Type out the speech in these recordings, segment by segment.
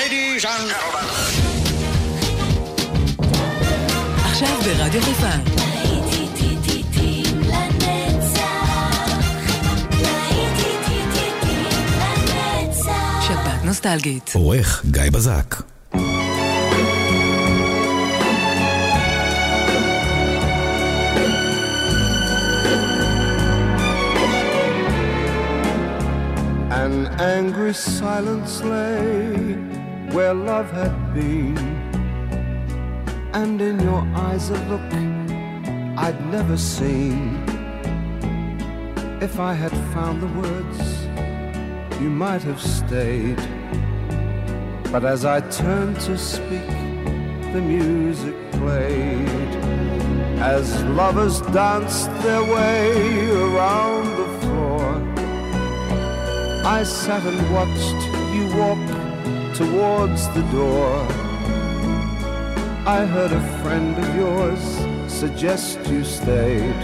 Ladies and gentlemen. עכשיו ברדיו חיפה. שבת נוסטלגית. עורך גיא בזק. An angry silence lay where love had been, and in your eyes a look I'd never seen. If I had found the words, you might have stayed, but as I turned to speak, the music played. As lovers danced their way around the floor, I sat and watched you walk towards the door. I heard a friend of yours suggest you stayed,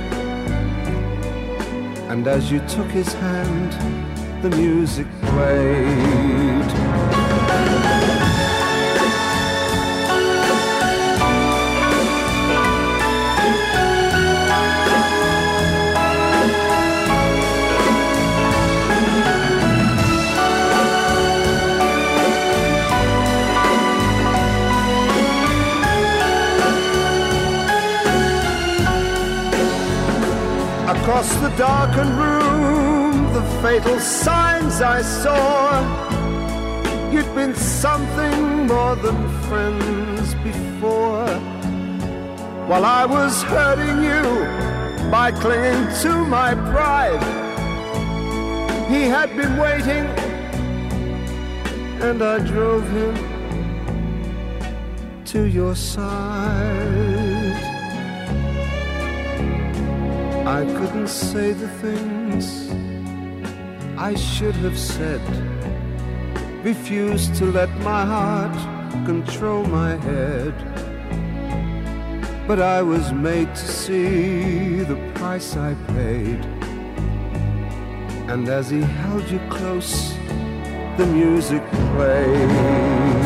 and as you took his hand, the music played. Across the darkened room, the fatal signs I saw. You'd been something more than friends before. While I was hurting you by clinging to my pride, he had been waiting, and I drove him to your side. I couldn't say the things I should have said, refused to let my heart control my head. But I was made to see the price I paid, and as he held you close, the music played.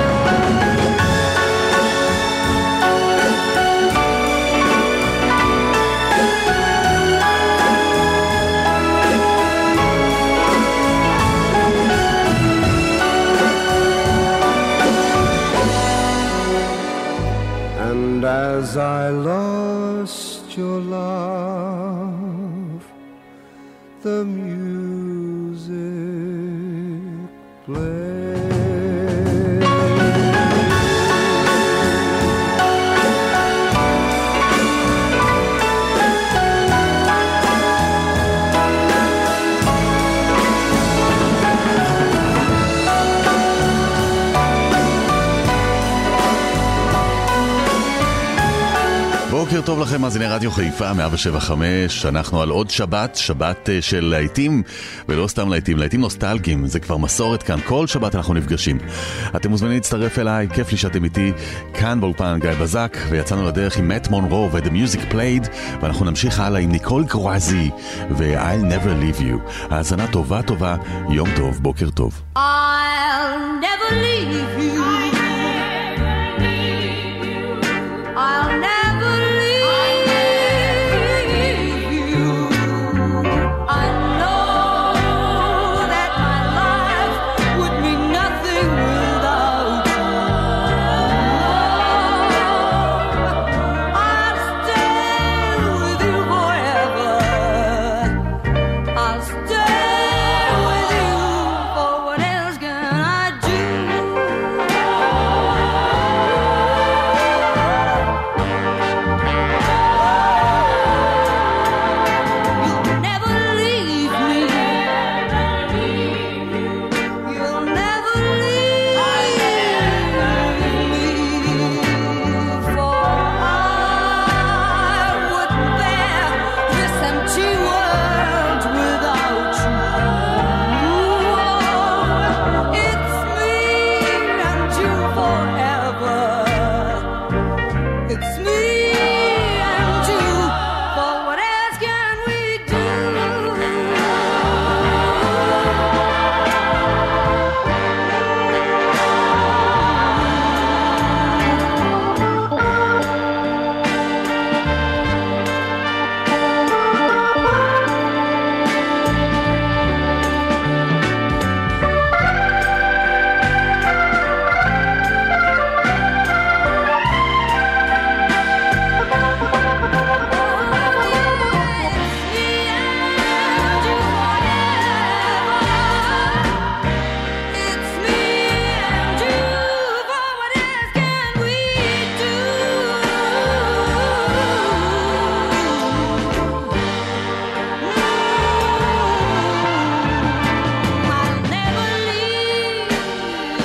And as I lost your love, the music played. בוקר טוב לכם, מאזיני רדיו חיפה 107.5. אנחנו על עוד שבת, שבת של להיטים, ולא סתם להיטים, להיטים נוסטלגיים. זה כבר מסורת כאן, כל שבת אנחנו נפגשים. אתם מוזמנים להצטרף אליי, כיף לי שאתם איתי כאן באולפן גיא בזק, ויצאנו לדרך עם מאט מונרו ו-The Music Played, ואנחנו נמשיך הלאה עם ניקול קרואזי ו-I'll Never Leave You. האזנה טובה טובה, יום טוב, בוקר טוב. I'll never leave you. I'll never Else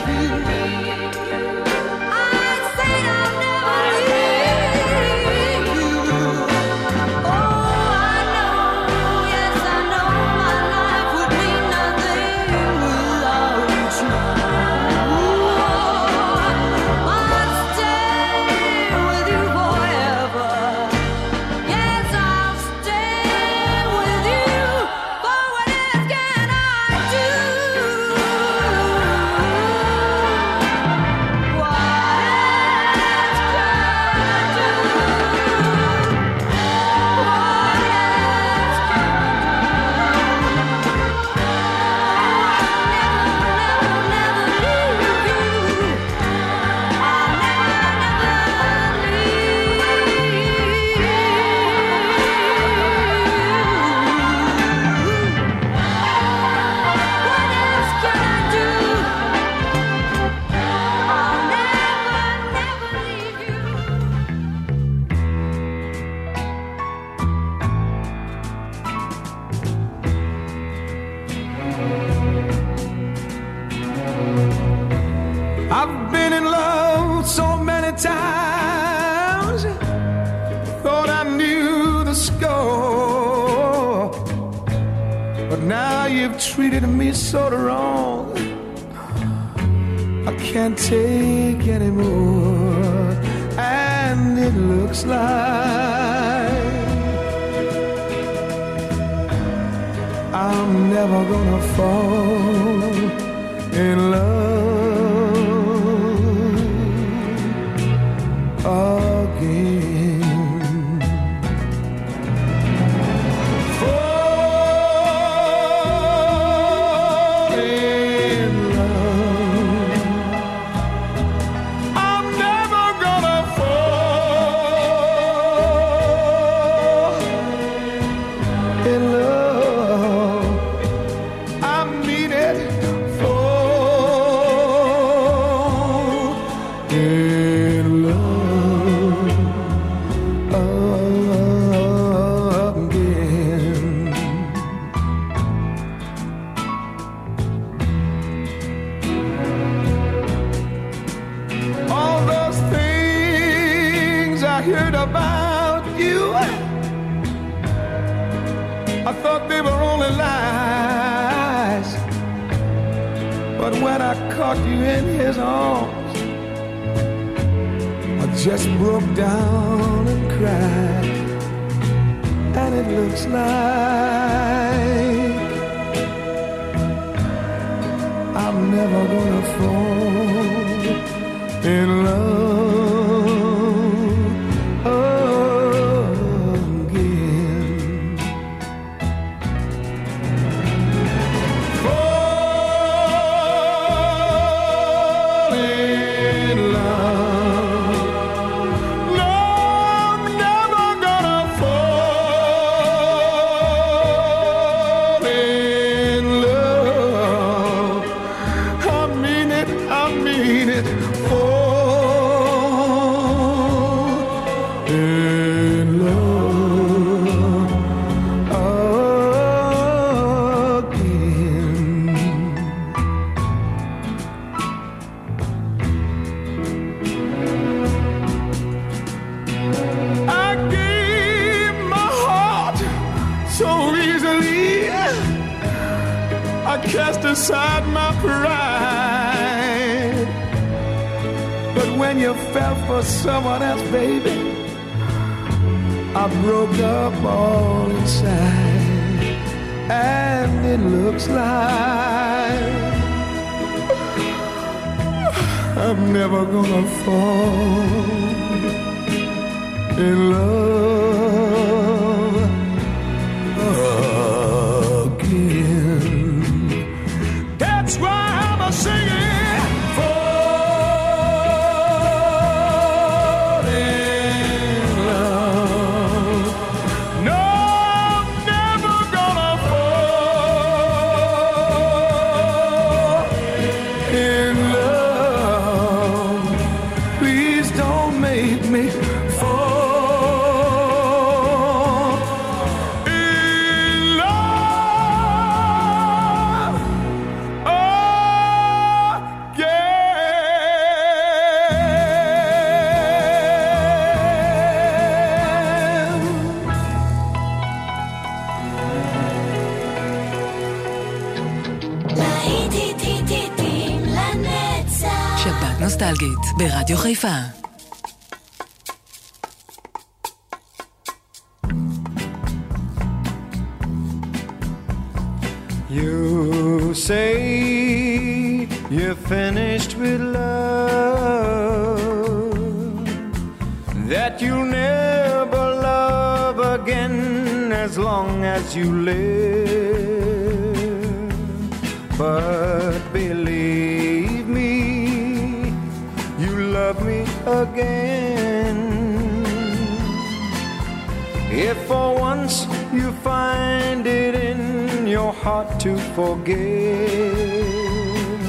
Treated me so wrong, I can't take anymore, and it looks like I'm never gonna fall in love again. Caught you in his arms, I just broke down and cried, and it looks like I'm never gonna fall in love cast aside my pride. But when you fell for someone else, baby, I broke up all inside. And it looks like I'm never gonna fall in love again. That's why I'm a singing, fall in love. No, I'm never gonna fall in love. Please don't make me fall שבת נוסטלגית ברדיו חיפה. You say you're finished with love, that you'll never love again as long as you live. But believe me, you love me again. If for once you find it in your heart to forgive,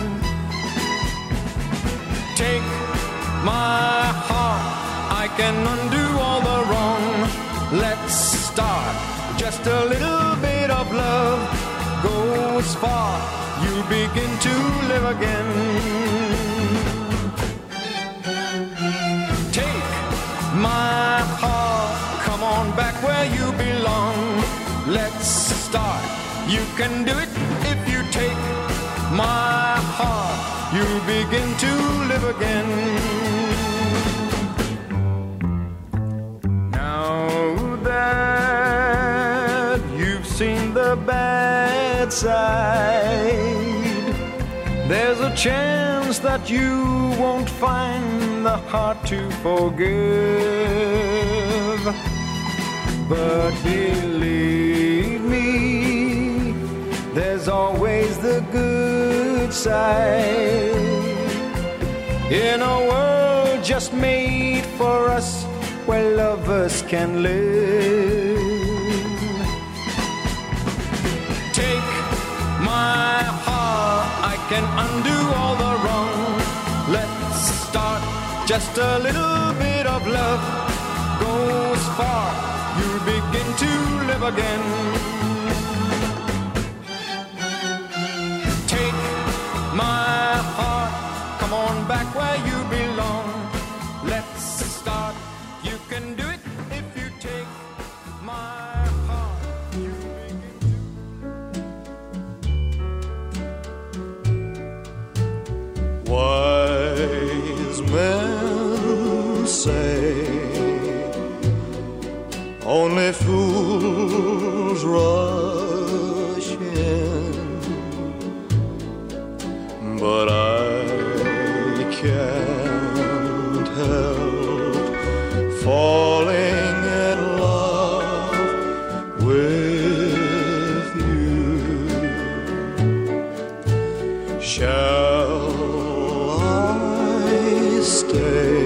take my heart, I can undo all the wrong. Let's start, just a little bit of love goes far, you begin to live again. Take my heart, come on back where you belong. Let's start, you can do it if you take my heart, you'll begin to live again. Now that you've seen the bad side, there's a chance that you won't find the heart to forgive. But believe me, there's always the good side. In a world just made for us, where lovers can live. Take my heart, I can undo all the wrong. Let's start, just a little bit of love goes far, you begin to live again. Take my heart, come on back where you belong. Let's start, you can do it if you take my heart, you begin to. Wise men say only fools rush in, but I can't help falling in love with you. Shall I stay?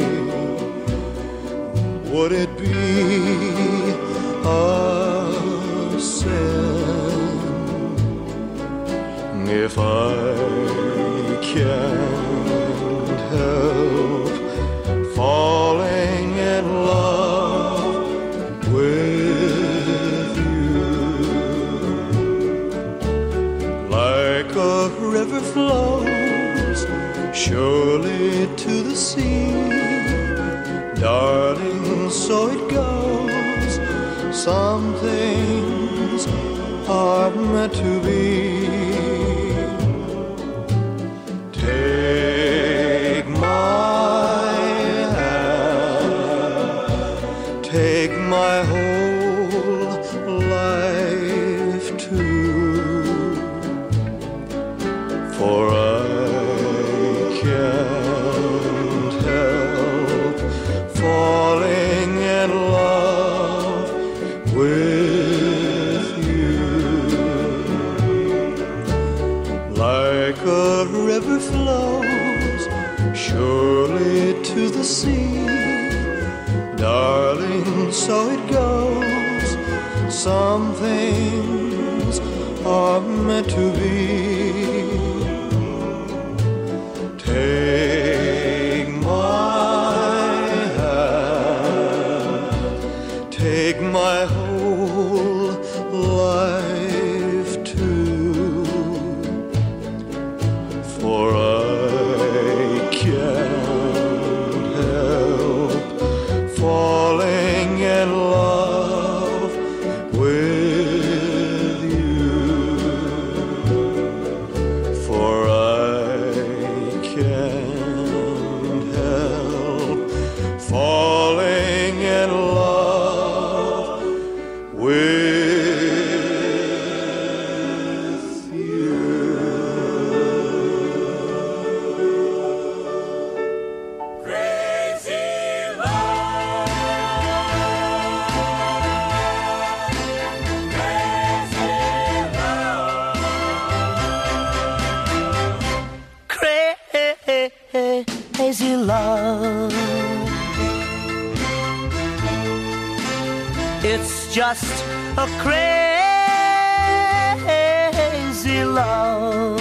Would it be a sin if I can't help falling in love with you? Like a river flows surely to the sea, darling, so it goes. Some things are meant to be. Take my hand, take my whole life too, for I can't help falling in love with you. Like a river flows surely to the sea, darling, so it goes. Some things are meant to be. Take my hand, take my whole life too, for I can't help falling in love with you, for I can't crazy love. It's just a crazy love.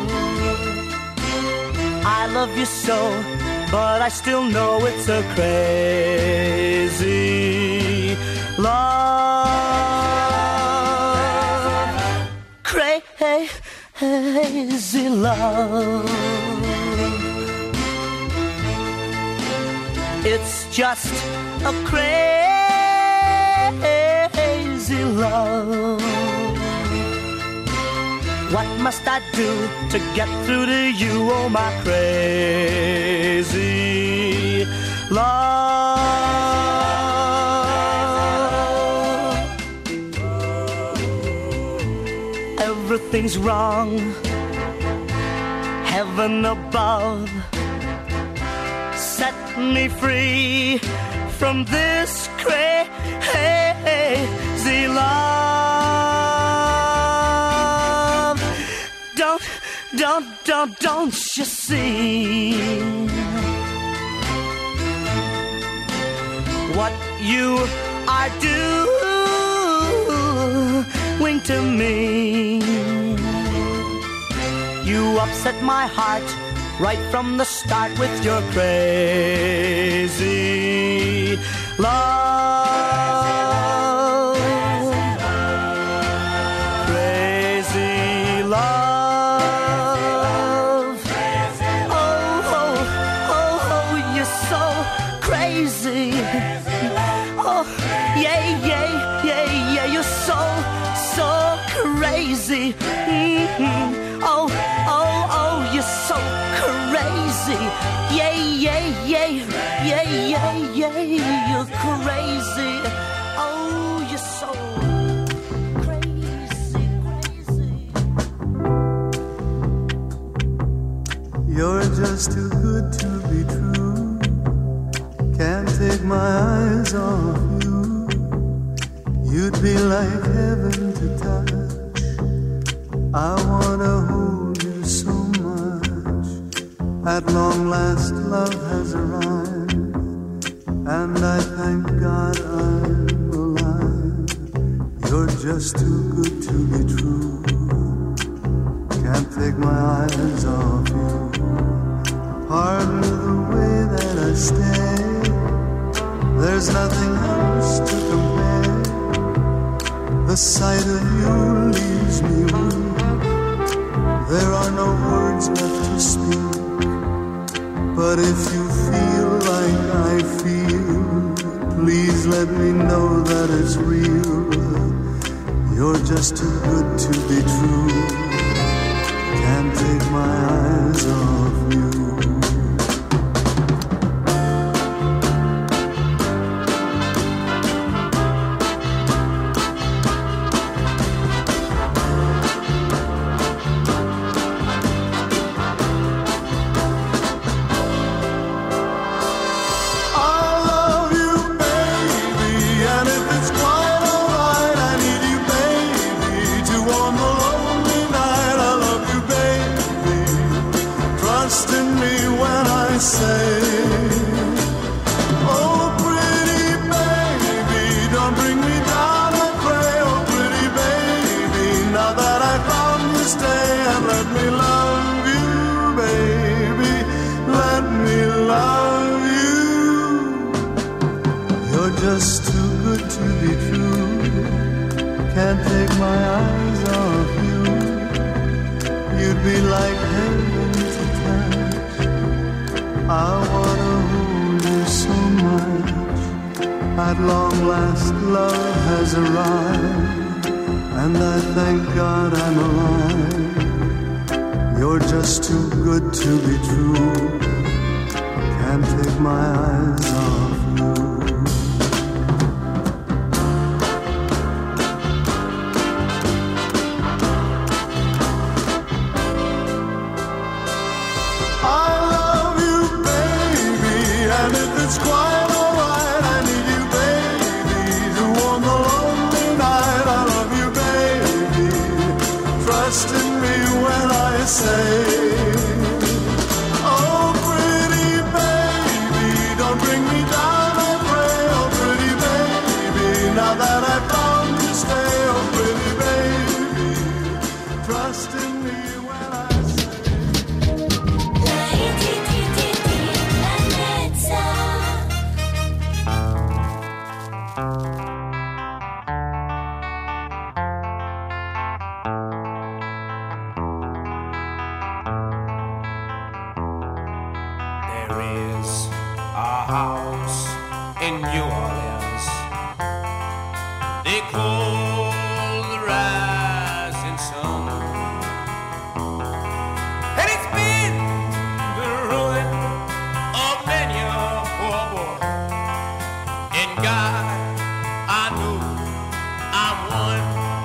I love you so, but I still know it's a crazy love. Crazy love. It's just a crazy love. What must I do to get through to you, oh my crazy love? Everything's wrong, heaven above, set me free from this crazy love. Don't you see what you are doing to me? You upset my heart right from the start with your crazy love. Crazy love. Oh, yeah, you're so crazy. Oh, you're so crazy. Yeah, you're crazy. Oh, you're so crazy. You're just too good to be true. Can't take my eyes off you. You'd be like heaven to touch. I wanna hold you so much. At long last love has arrived, and I thank God I'm alive. You're just too good to be true. Can't take my eyes off you. Pardon the way that I stay. There's nothing else to compare. The sight of you leaves me weak. There are no words left to speak. But if you feel like I feel, please let me know that it's real. You're just too good to be true. Can't take my eyes off you. Just too good to be true. Can't take my eyes off you. You'd be like heaven to touch. I wanna hold you so much. At long last love has arrived, and I thank God I'm alive. You're just too good to be true. Can't take my eyes off you. It's quite alright, I need you, baby, to warm the lonely night. I love you, baby, trust in me when I say, oh, There is a house in New Orleans they call the rising sun, and it's been the ruin of many a poor boy. In God I know I'm one.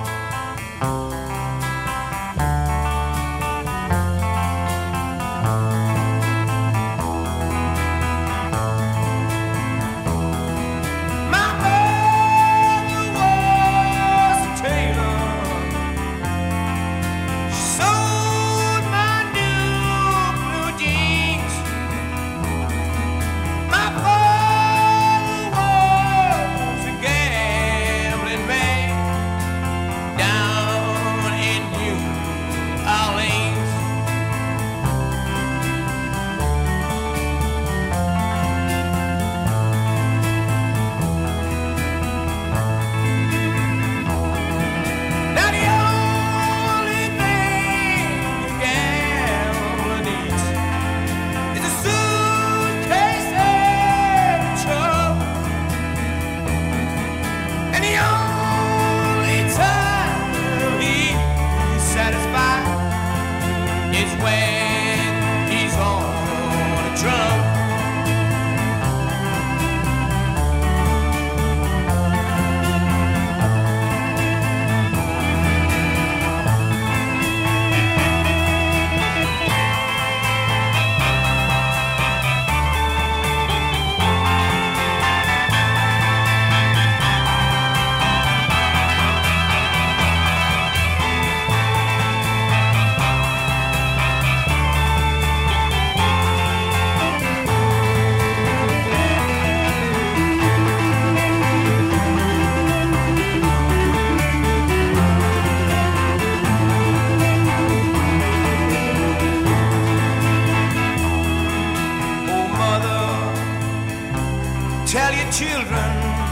Tell your children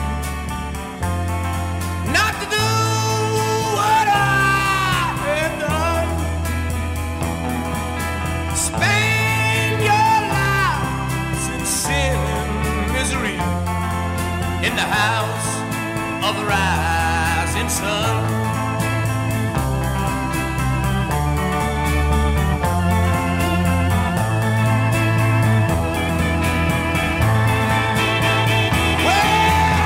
not to do what I have done. Spend your lives in sin and misery in the house of the rising sun. Well,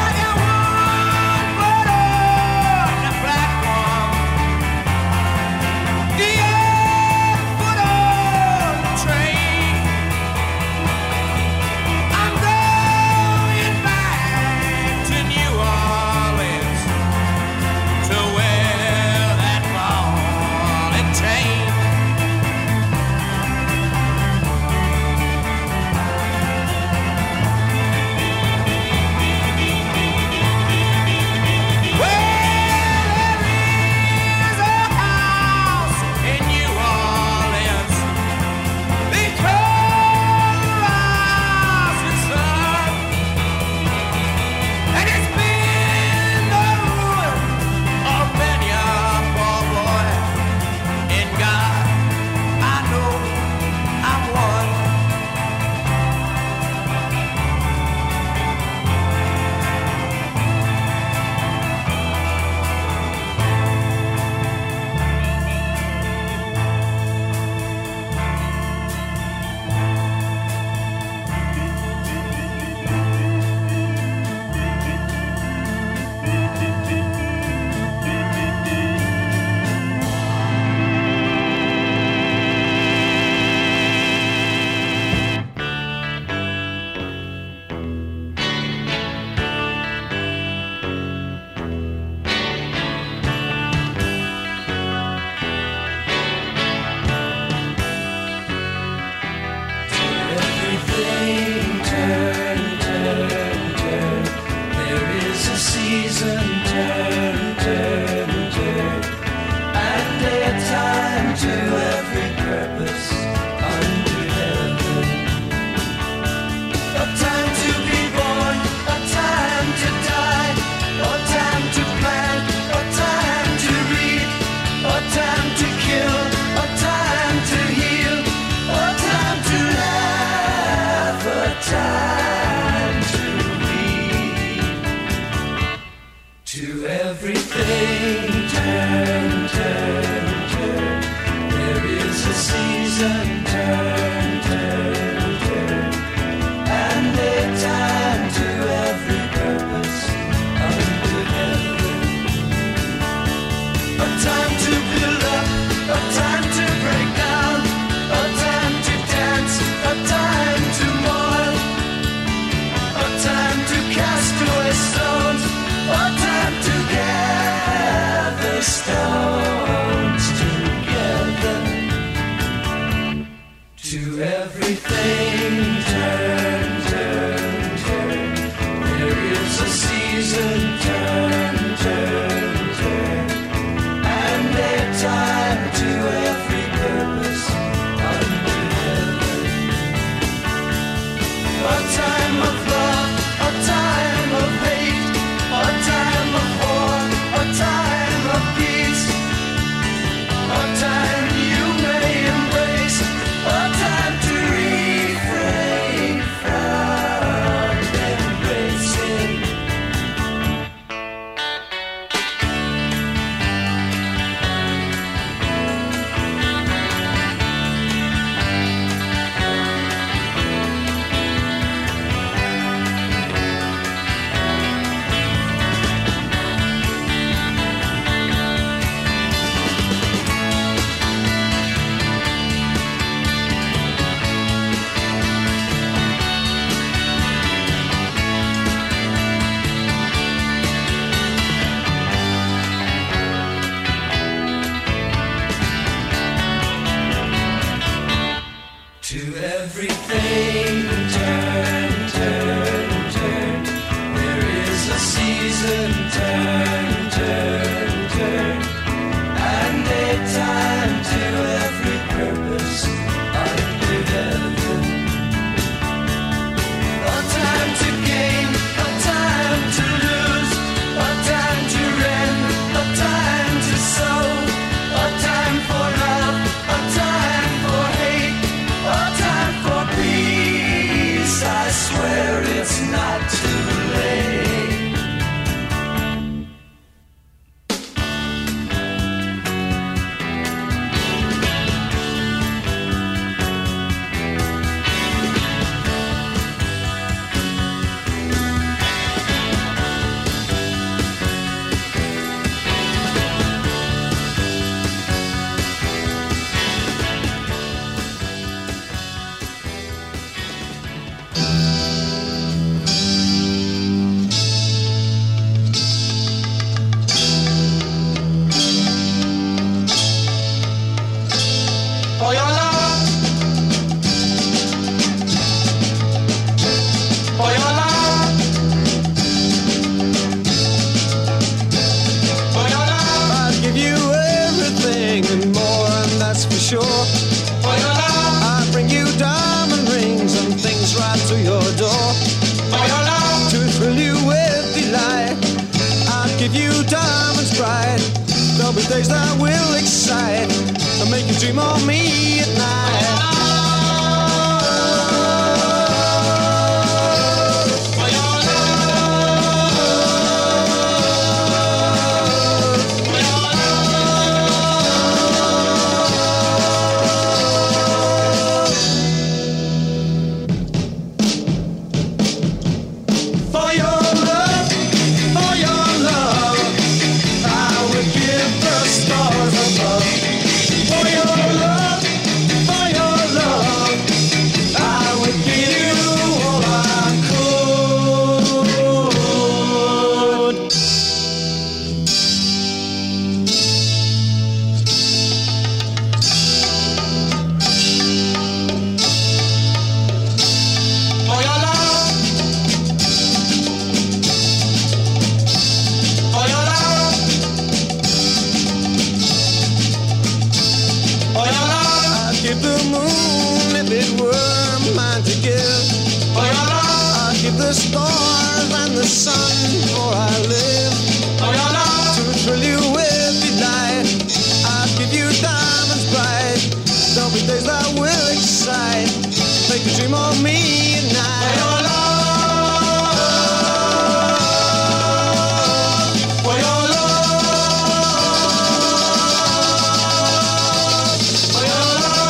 season turn, turn, turn, and their time to every purpose under heaven. A time of love, a time of hate, a time of war, a time of peace, a time you may embrace, a time to refrain from embracing. To everything turn, turn, turn. There is a season turn, turn, turn, and a time to every purpose under heaven. A time to gain, a time to lose, a time to rend, a time to sow, a time for love, a time for hate, a time for peace. I swear it's not too late. For your love, for your love, for your love, I'd give you everything and more, and that's for sure. for your love, I'd bring you diamond rings and things right to your door for your love, to thrill you with delight. I'd give you diamonds bright. There'll be days that will excite and make you dream of me at night. for your love, for your For your love, for your love, I would give the stars above. For your love, for your love, I would give you all I could. For your love, for your love, for your love, I'd give the moon if it were mine to give. for your love, I'd give the stars and the sun for I live. for your love, To thrill you with delight, I'd give you diamonds bright. There'll be days that will excite, make you dream of me at for night. your love, for your love, for your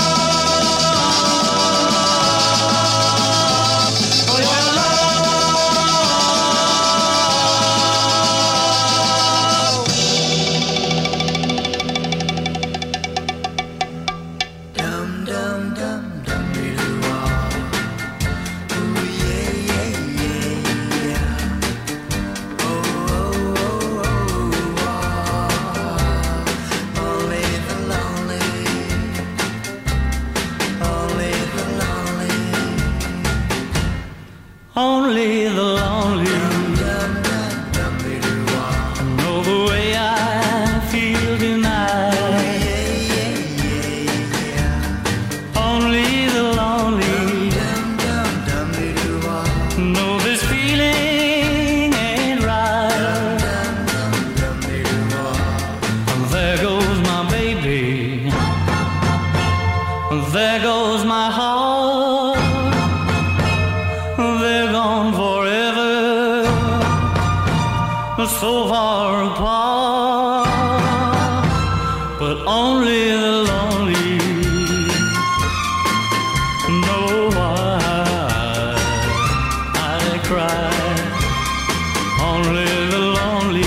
love, for your love. Dum dum dum dum doo ah, ooh yeah yeah yeah yeah. Oh oh oh oh ah, only the lonely, only the lonely, only the lonely. Dum dum dum so far apart, but only the lonely know why I cry. Only the lonely.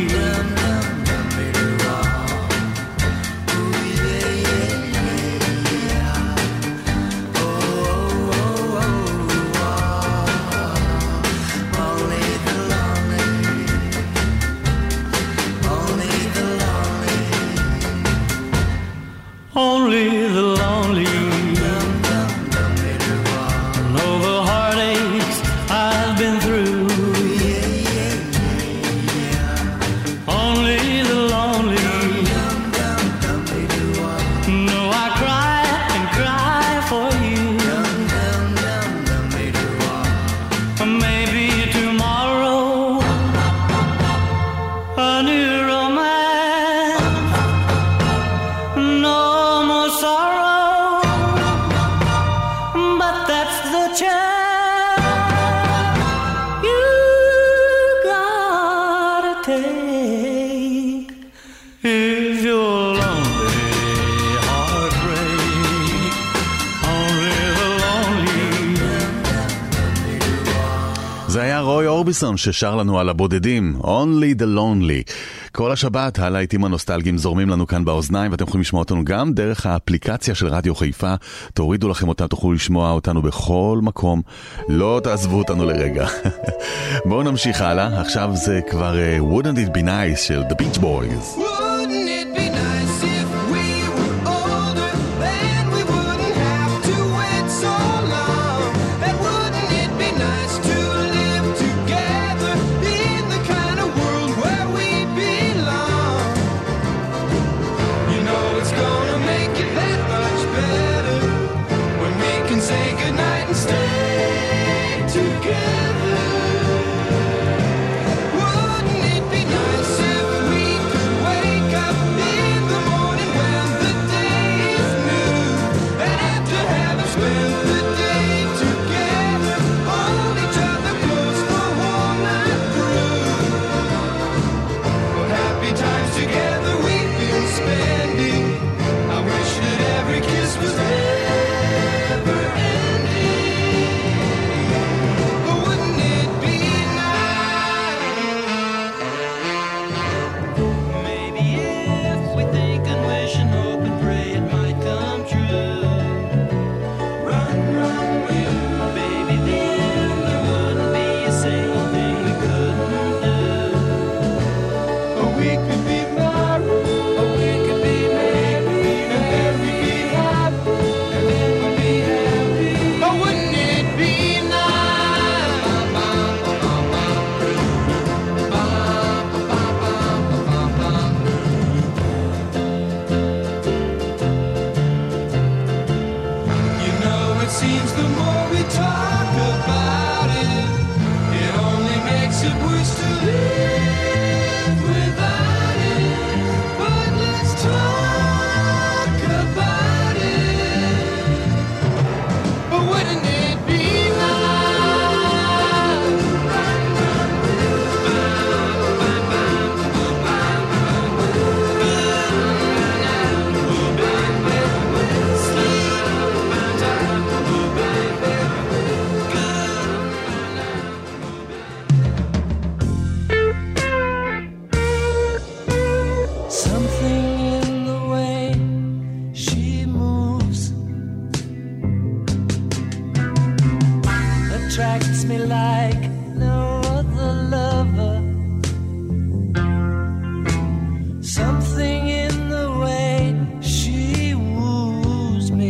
Only the lonely know the heartaches I've been through. Only the lonely know I cry and cry for you. Maybe tomorrow a new romance, no more sorrow, but that's the chance you gotta take if you're lonely, heartbreak. Only the lonely. זה היה רוי אורביסון ששר לנו על הבודדים, Only the Lonely. כל השבת הלהיטים הנוסטלגיים זורמים לנו כאן באוזניים, ואתם יכולים לשמוע אותנו גם דרך האפליקציה של רדיו חיפה. תורידו לכם אותה, תוכלו לשמוע אותנו בכל מקום, לא תעזבו אותנו לרגע. בואו נמשיך הלאה, עכשיו זה כבר Wouldn't It Be Nice של The Beach Boys. Wouldn't it be nice if we were older, then we wouldn't have to wait so long? And wouldn't it be nice to live together in the kind of world where we belong? You know it's gonna make it that much better when we can say goodnight and stay together. Wouldn't it be nice if we could wake up in the morning when the day is new, and after having spent the day together, hold each other close the whole night through? What happy times together we've been spending. I wish that every kiss was never ending. But wouldn't it be nice? Maybe if we think and wish and hope and pray it might come true. Run, run, will, baby, then there wouldn't be a single thing we couldn't do. Or we could be married, or we could be married, and then we'd be happy, and then we'd be happy. Or wouldn't it be You know, it seems the more we talk about it, it only makes it worse to live without it. But let's talk about it. But wouldn't it be something in the way she moves attracts me like no other lover? Something in the way she woos me.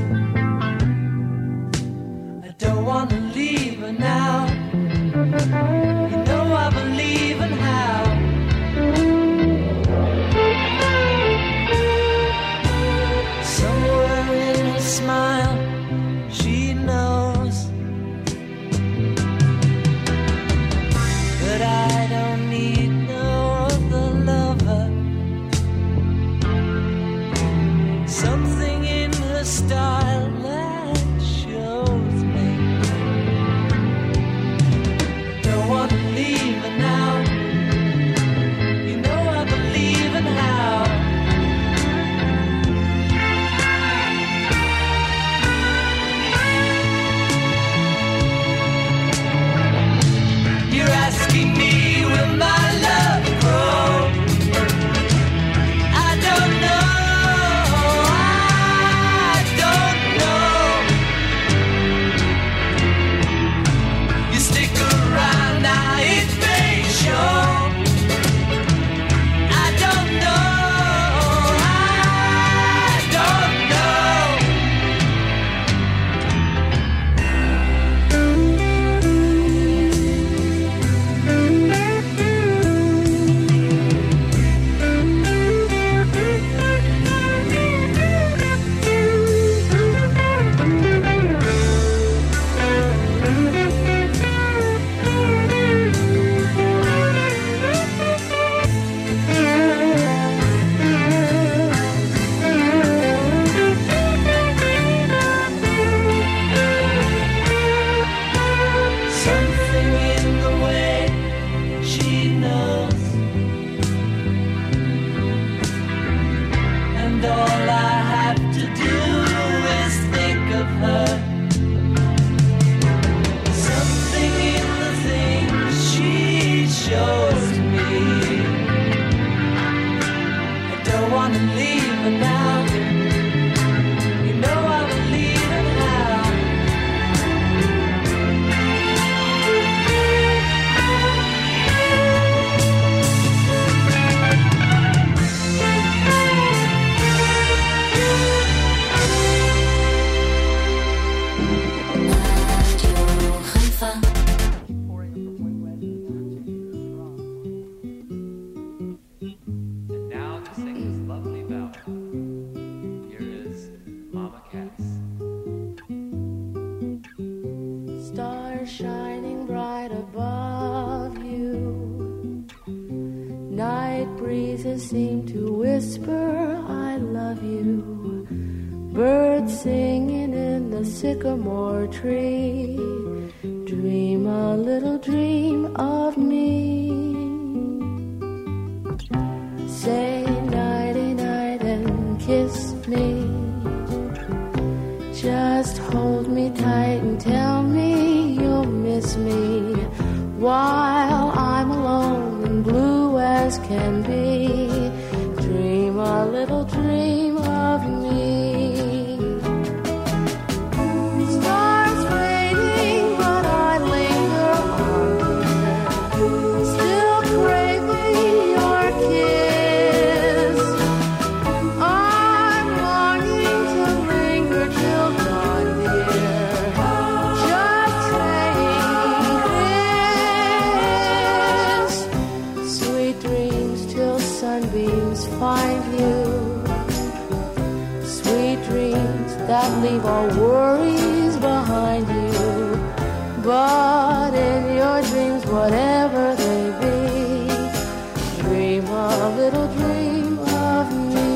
I don't want to leave her now. You know I believe in how. Somewhere in her smile, she knows that I don't need no other lover. Something in her style that shows me I don't want shining bright above you. Night breezes seem to whisper, I love you. Birds singing in the sycamore tree. Dream a little dream of me. Say nighty night and kiss me. Just hold me tight and tell me you'll miss me while I'm alone and blue as can be. Dream a little dream of me. Stars fading, but I linger on there, still craving your kiss. I'm longing to linger till dawn, dear, just saying this. Sweet dreams till sunbeams find you. Sweet dreams that leave all worries behind you. But in your dreams, whatever they be, dream a little dream of me.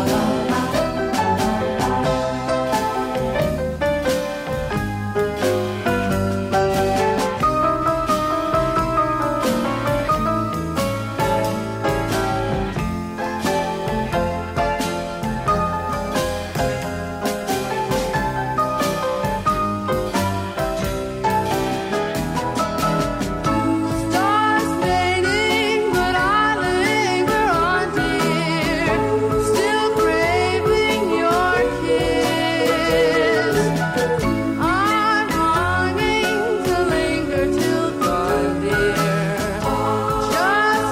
Stars fading, but I linger on, dear, still craving your kiss. I'm longing to linger till dawn, dear, just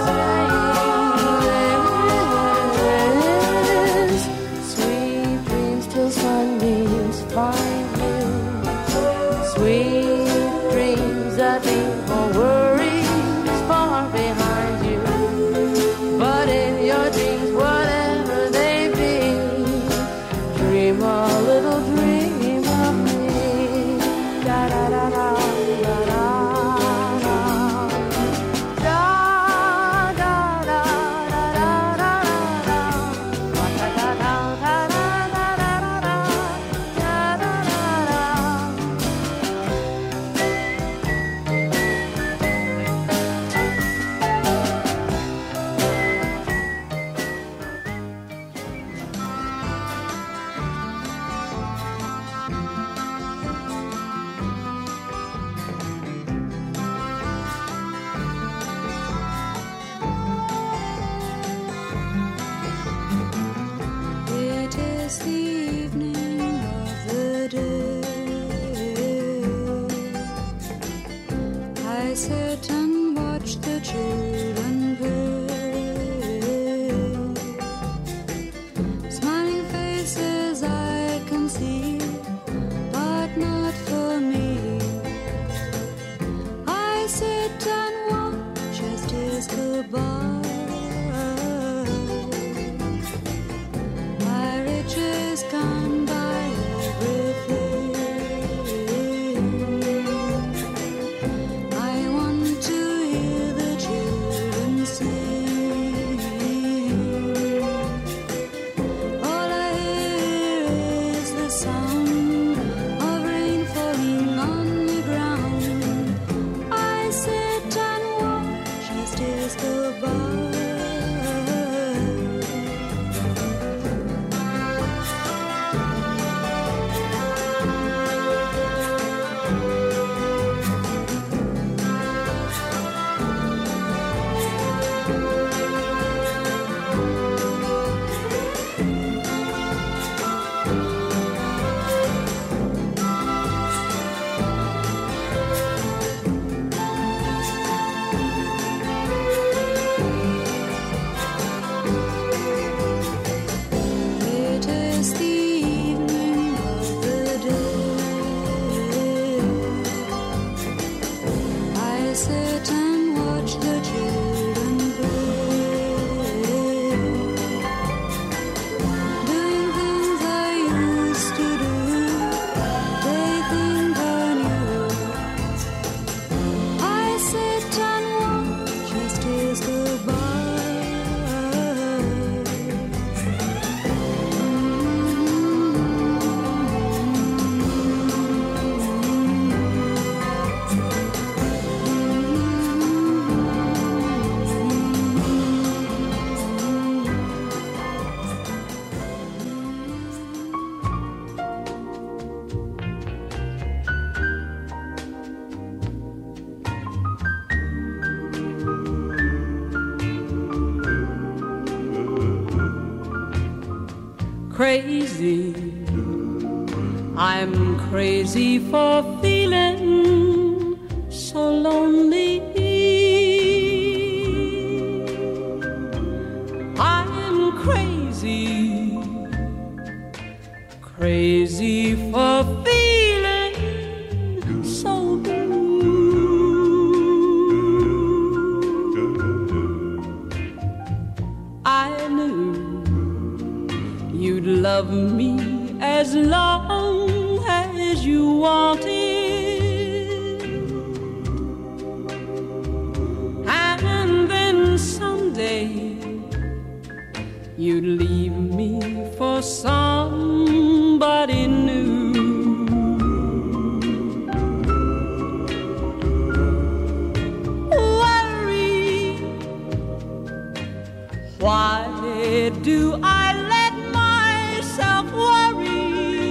saying this. Sweet dreams till sunbeams find you. Sweet dreams that leave all worries far behind you. But in your dreams, whatever they be, dream a little dream of me. Da da da da da da da. Da da da da da da da. Da da da da da da da da. Da da da da. It is the evening of the day. I sit and watch the children play. Smiling faces I can see, but not for me. I sit and watch as days go by. My riches can buy everything. I want to hear the children crazy. I'm crazy for feeling so lonely. I'm crazy, crazy for feeling so blue. I knew you'd love me as long as you wanted, and then someday you'd leave me for somebody new. Worry, why do I let myself worry?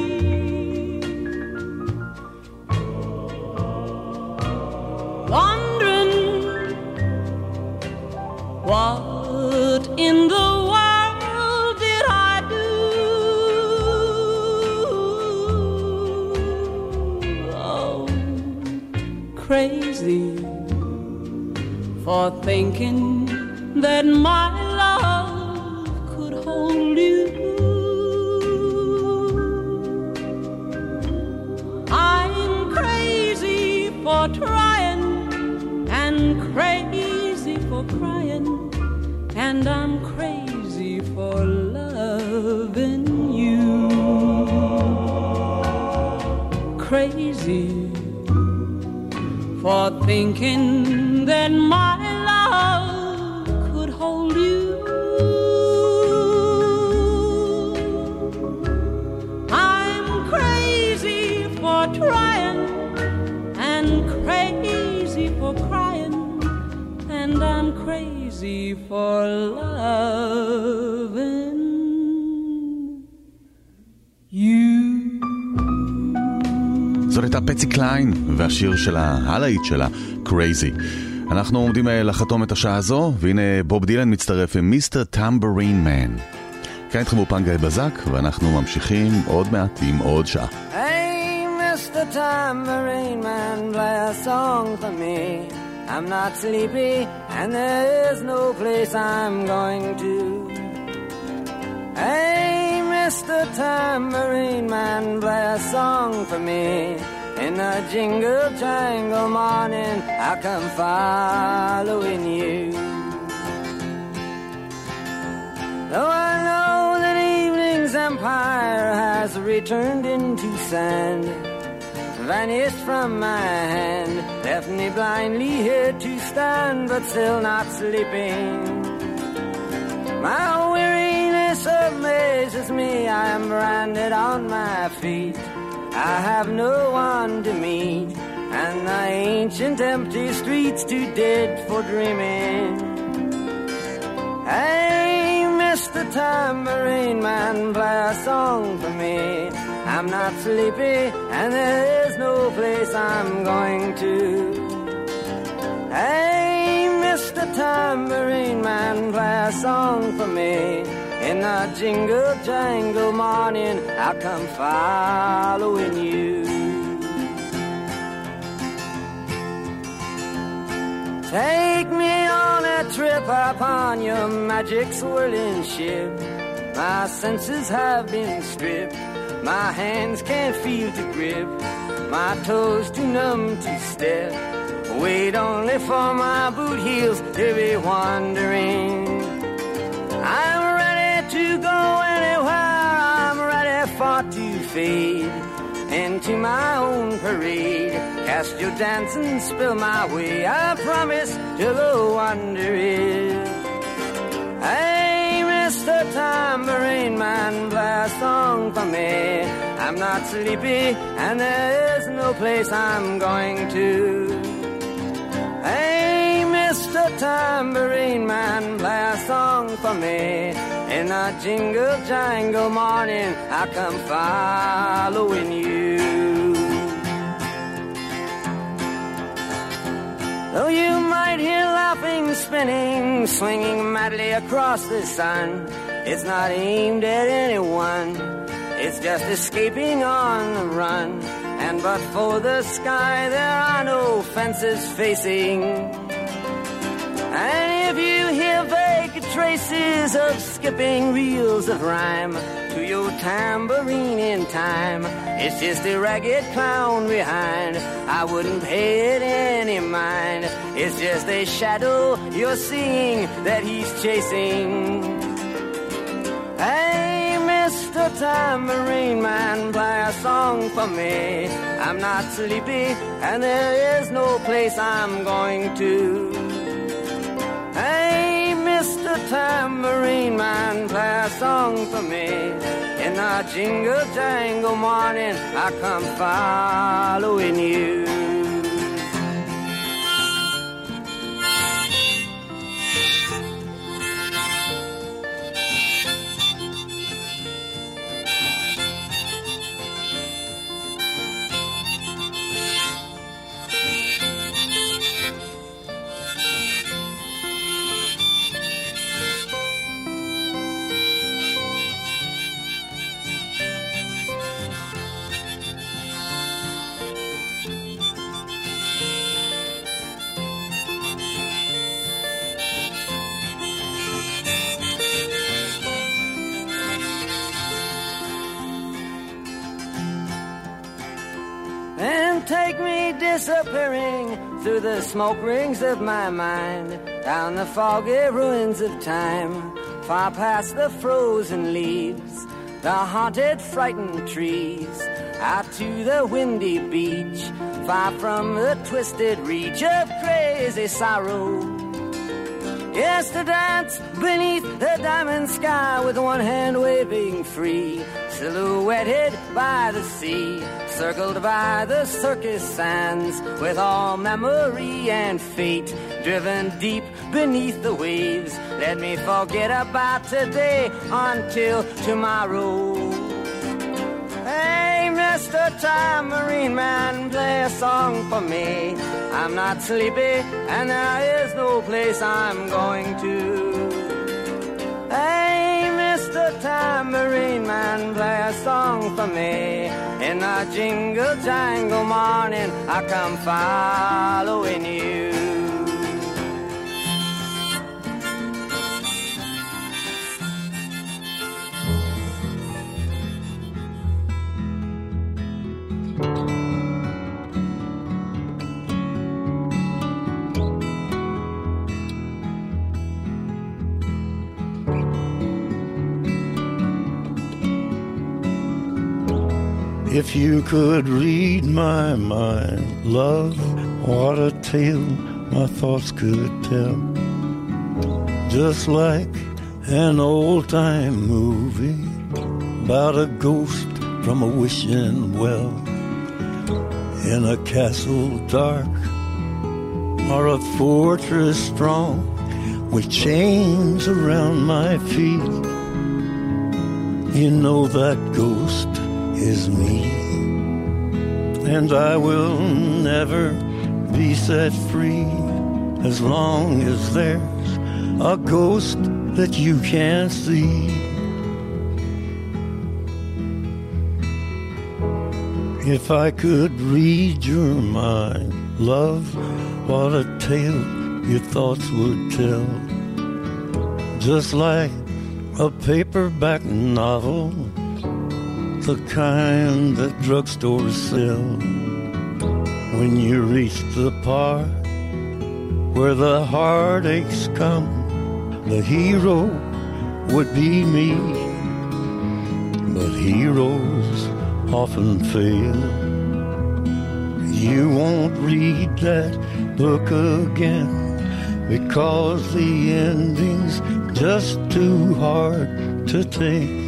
Wondering what in the world did I do? Oh, crazy for thinking that my love could hold you. I'm crazy for trying and crazy for crying, and I'm crazy for loving you. Crazy for thinking that my love could hold you. I'm crazy for trying and crazy for crying, and I'm crazy for loving you. זאת הייתה פצי קליין והשיר שלה, הלהיט שלה, Crazy. אנחנו עומדים לחתום את השעה הזו, והנה בוב דילן מצטרף עם מיסטר טמבורין מן. כאן איתכם באופן גיא בזק, ואנחנו ממשיכים עוד מעט עם עוד שעה. Hey, Mr. Tambourine Man, play a song for me. I'm not sleepy, and there is no place I'm going to. Hey, Mr. Tambourine Man, play a song for me. In the jingle jangle morning, I come following you. Though I know that evening's empire has returned into sand, vanished from my hand, left me blindly here to stand, but still not sleeping. My weariness amazes me, I am branded on my feet. I have no one to meet, and the ancient empty streets too dead for dreaming. Hey, Mr. Tambourine Man, play a song for me. I'm not sleepy, and there is no place I'm going to. Hey, Mr. Tambourine Man, play a song for me. In the jingle jangle morning, I'll come following you. Take me on a trip upon your magic swirling ship. My senses have been stripped, my hands can't feel to grip, my toes too numb to step. Wait only for my boot heels to be wandering. I'm ready to go anywhere, I'm ready for to fade into my own parade. Cast your dance and spill my way, I promise to go wonder it. Hey, Mr. Tambourine Man, play a song for me. I'm not sleepy, and there is no place I'm going to. Hey, Mr. Tambourine Man, play a song for me. In a jingle jangle morning, I come following you. Though you might hear laughing, spinning, swinging madly across the sun, It's not aimed at anyone. It's just escaping on the run. And but for the sky, there are no fences facing. And if you hear vague traces of skipping reels of rhyme to your tambourine in time, it's just a ragged clown behind. I wouldn't pay it any mind. It's just a shadow you're seeing that he's chasing. Hey, Mr. Tambourine Man, play a song for me. I'm not sleepy and there is no place I'm going to. Hey, Mr. Tambourine Man, play a song for me. In the jingle jangle morning, I come following you. Take me disappearing through the smoke rings of my mind, down the foggy ruins of time, far past the frozen leaves, the haunted, frightened trees, out to the windy beach, far from the twisted reach of crazy sorrow. Yes, to dance beneath the diamond sky with one hand waving free, silhouetted by the sea, circled by the circus sands, with all memory and fate driven deep beneath the waves. Let me forget about today until tomorrow. Hey, Mr. Tambourine Man, play a song for me. I'm not sleepy and there is no place I'm going to. Hey, Mr. Tambourine Man, play a song for me. In the jingle jangle morning, I come following you. If you could read my mind, love, what a tale my thoughts could tell. Just like an old-time movie about a ghost from a wishing well, in a castle dark or a fortress strong with chains around my feet. You know that ghost is me, and I will never be set free as long as there's a ghost that you can't see. If I could read your mind, love, what a tale your thoughts would tell. Just like a paperback novel, the kind that drugstores sell. When you reach the part where the heartaches come, the hero would be me. But heroes often fail. You won't read that book again because the ending's just too hard to take.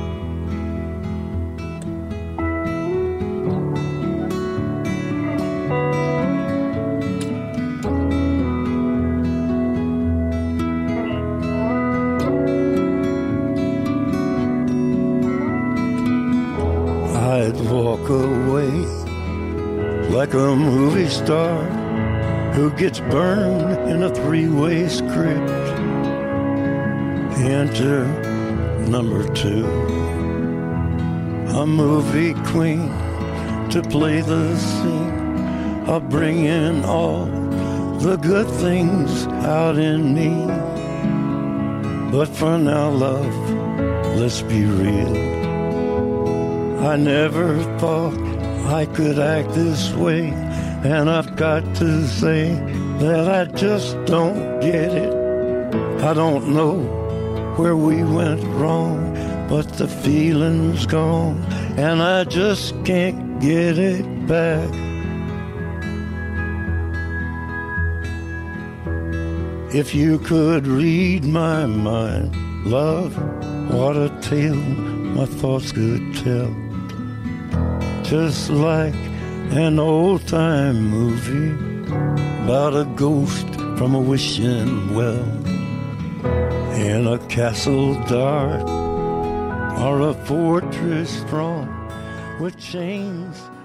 Walk away like a movie star who gets burned in a three-way script. Enter number 2. A movie queen to play the scene of bringing all the good things out in me. But for now, love, let's be real. I never thought I could act this way, and I've got to say that I just don't get it. I don't know where we went wrong, but the feeling's gone, and I just can't get it back. If you could read my mind, love, what a tale my thoughts could tell. Just like an old-time movie about a ghost from a wishing well, in a castle dark or a fortress strong with chains